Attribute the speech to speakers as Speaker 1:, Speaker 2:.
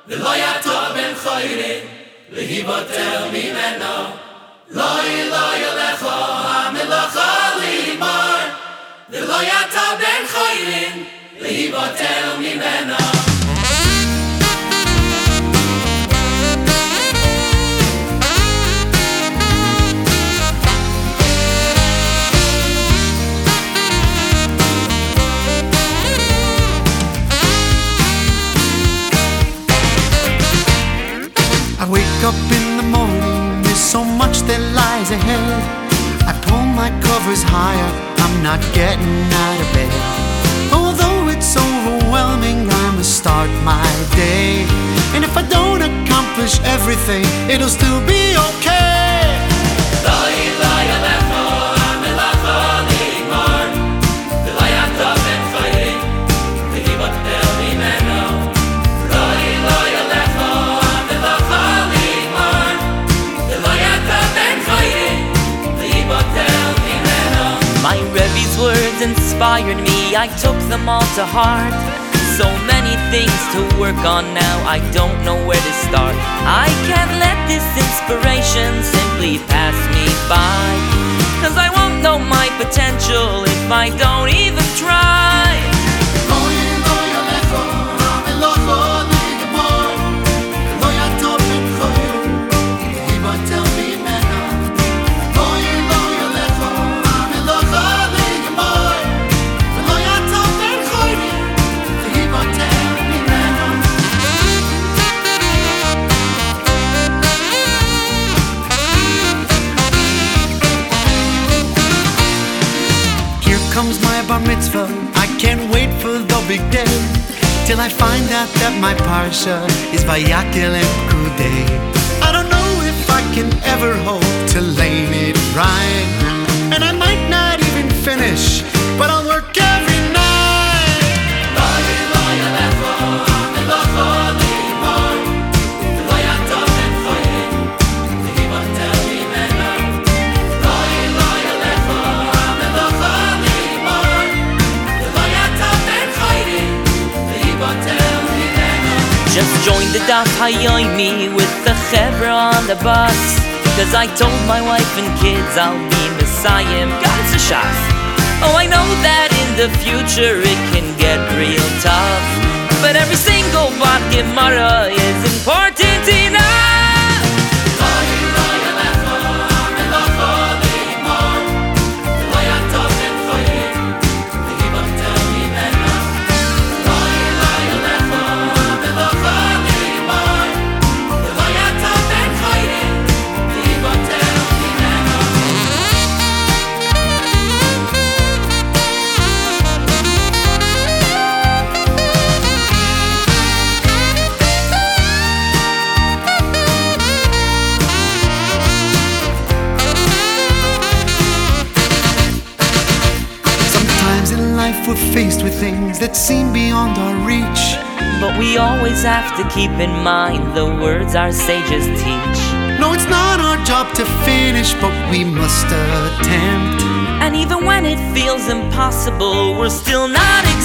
Speaker 1: ולא יתו בן חוירים, להיבטל ממנו. לא ילך המלאכה לגמור, ולא יתו בן חוירים, להיבטל ממנו.
Speaker 2: I wake up in the morning, there's so much that lies ahead. I pull my covers higher, I'm not getting out of bed. Although it's overwhelming, I must start my day. And if I don't accomplish everything, it'll still be okay.
Speaker 3: My Rebbe's words inspired me, I took them all to heart. So many things to work on now, I don't know where to start. I can't let this inspiration simply pass me by, 'cause I won't know my potential if I don't even try.
Speaker 2: Comes my bar mitzvah, I can't wait for the big day, till I find out that my parsha is Vayakel and Kudei. I don't know if I can ever hope to lane it right, and I might not even finish, but I'll work every night.
Speaker 3: Just joined the Daf Hayomi with the Chevra on the bus, 'cause I told my wife and kids I'll be Messiah Ganze Shas. Oh, I know that in the future it can get real tough, but every single Bar Gemara is important enough.
Speaker 2: We're faced with things that seem beyond our reach,
Speaker 3: but we always have to keep in mind the words our sages teach.
Speaker 2: No, it's not our job to finish, but we must attempt.
Speaker 3: And even when it feels impossible, we're still not